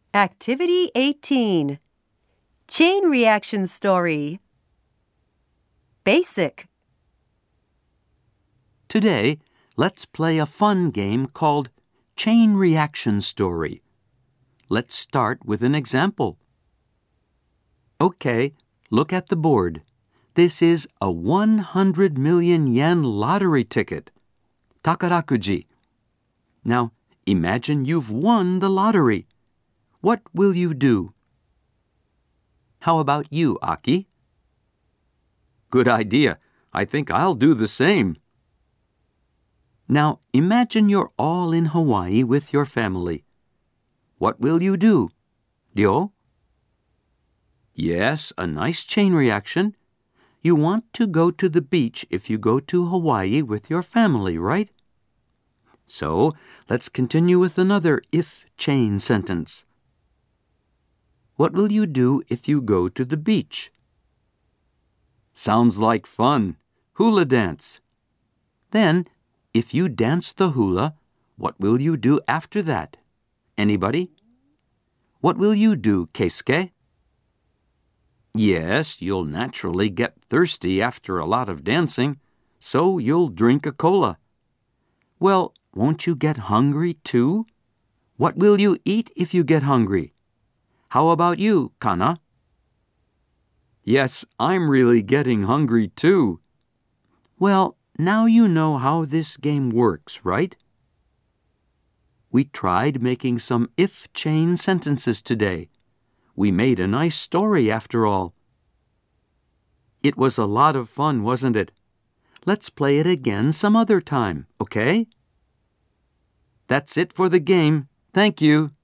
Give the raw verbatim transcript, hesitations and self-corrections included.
Activity eighteen. Chain reaction story. Basic. Today, let's play a fun game called Chain Reaction Story. Let's start with an example. Okay, look at the board. This is a one hundred million yen lottery ticket. Takarakuji. Now, imagine you've won the lottery. What will you do? How about you, Aki? Good idea. I think I'll do the same. Now, imagine you're all in Hawaii with your family. What will you do? Ryo? Yes, a nice chain reaction. You want to go to the beach if you go to Hawaii with your family, right? So, let's continue with another if chain sentence. What will you do if you go to the beach? Sounds like fun. Hula dance. Then, if you dance the hula, what will you do after that? Anybody? What will you do, Keisuke? Yes, you'll naturally get thirsty after a lot of dancing, so you'll drink a cola. Well, won't you get hungry too? What will you eat if you get hungry? How about you, Kana? Yes, I'm really getting hungry too. Well, now you know how this game works, right? We tried making some if chain sentences today. We made a nice story after all. It was a lot of fun, wasn't it? Let's play it again some other time, okay? That's it for the game. Thank you.